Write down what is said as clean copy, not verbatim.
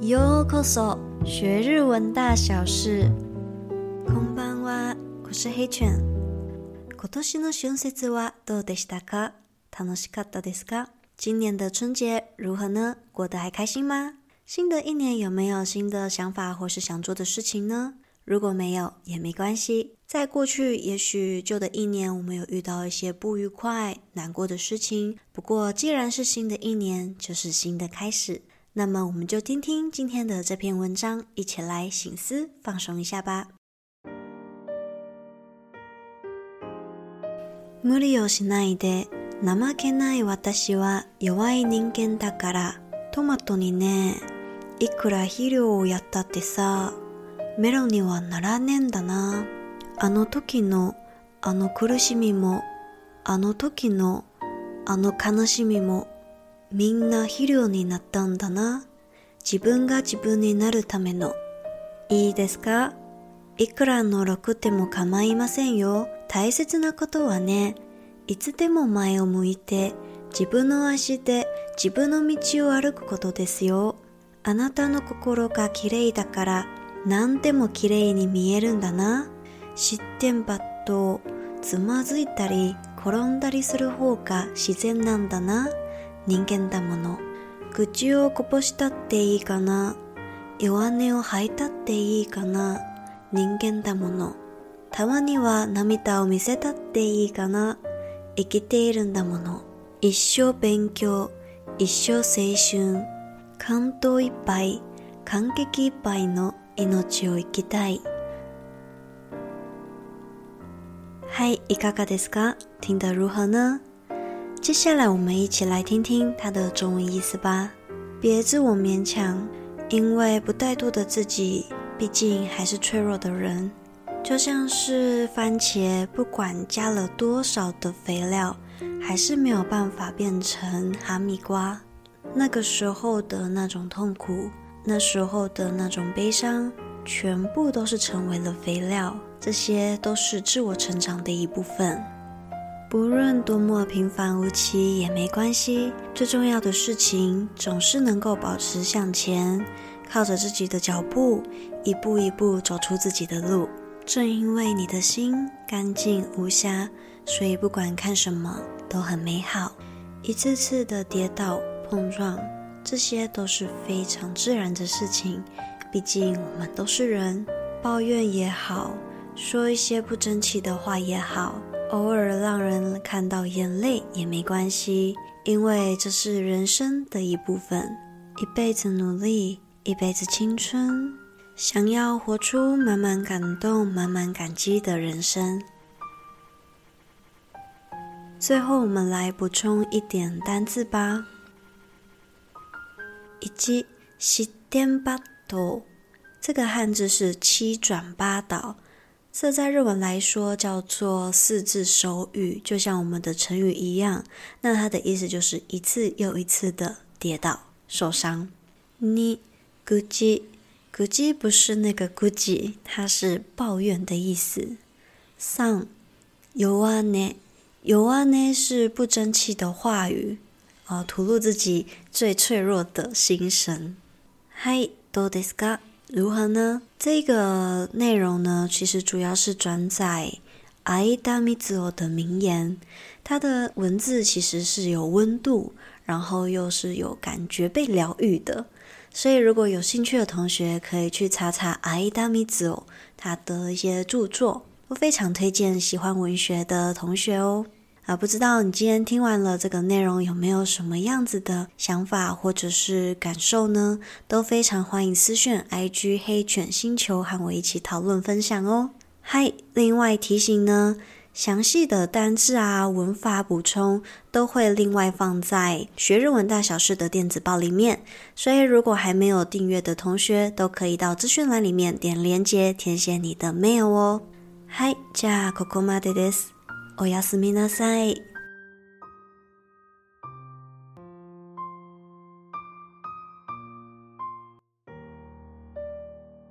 ようこそ學日文大小事。こんばんは，我是黑犬。今年の春節はどうでしたか？楽しかったですか？今年的春節如何呢？過得還開心嗎？新的一年有沒有新的想法或是想做的事情呢？如果沒有也沒關係，在過去也許舊的一年我們有遇到一些不愉快、難過的事情，不過既然是新的一年，就是新的開始，那麼我們就聽聽今天的這篇文章，一起來省思放鬆一下吧。無理をしないで、怠けない私は弱い人間だから、トマトにね、いくら肥料をやったってさ、メロンにはならねえんだな。あの時のあの苦しみも、あの時のあの悲しみも、みんな肥料になったんだな。自分が自分になるための。いいですか？いくらのろくでも構いませんよ。大切なことはね、いつでも前を向いて、自分の足で自分の道を歩くことですよ。あなたの心がきれいだから、何でもきれいに見えるんだな。失点ばっとつまずいたり転んだりする方が自然なんだな。人間だもの。口をこぼしたっていいかな。弱音を吐いたっていいかな。人間だもの。たまには涙を見せたっていいかな。生きているんだもの。一生勉強、一生青春。感動いっぱい、感激いっぱいの命を生きたい。嗨，いかがですか？聽得如何呢？接下來我們一起來聽聽它的中文意思吧。別自我勉強，因為不怠惰的自己，畢竟還是脆弱的人。就像是番茄，不管加了多少的肥料，還是沒有辦法變成哈密瓜。那個時候的那種痛苦，那時候的那種悲傷，全部都是成為了肥料。這些都是自我成長的一部分。不論多麼平凡無奇也沒關係，最重要的事情總是能夠保持向前，靠着自己的腳步，一步一步走出自己的路。正因為你的心乾淨無瑕，所以不管看什麼都很美好。一次次的跌倒碰撞，這些都是非常自然的事情，畢竟我們都是人。抱怨也好，說一些不爭氣的話也好，偶爾讓人看到眼淚也沒關係，因為這是人生的一部分。一輩子努力，一輩子青春，想要活出滿滿感動、滿滿感激的人生。最後我們來補充一點單字吧。1、失點ばっと，這個漢字是七轉八倒，這在日文來說叫做四字手語，就像我們的成語一樣。那它的意思就是一次又一次的跌倒受傷。2、愚痴，愚痴不是那個愚痴，它是抱怨的意思。3、弱音，弱音是不爭氣的話語，吐露自己最脆弱的心聲。はい、どうですか？如何呢？這個內容呢，其實主要是轉載相田みつを的名言。它的文字其實是有溫度，然後又是有感覺被療癒的。所以如果有興趣的同學，可以去查查相田みつを他的一些著作，都非常推薦喜歡文學的同學哦。不知道你今天聽完了這個內容有沒有什麼樣子的想法或者是感受呢？都非常歡迎私訊 IG 黑犬星球和我一起討論分享哦。嗨，另外提醒呢，詳細的單字文法補充都會另外放在學日文大小事的電子報裡面，所以如果還沒有訂閱的同學都可以到資訊欄裡面點連結填寫你的 mail 哦。はい、じゃあここまでです。おやすみなさい。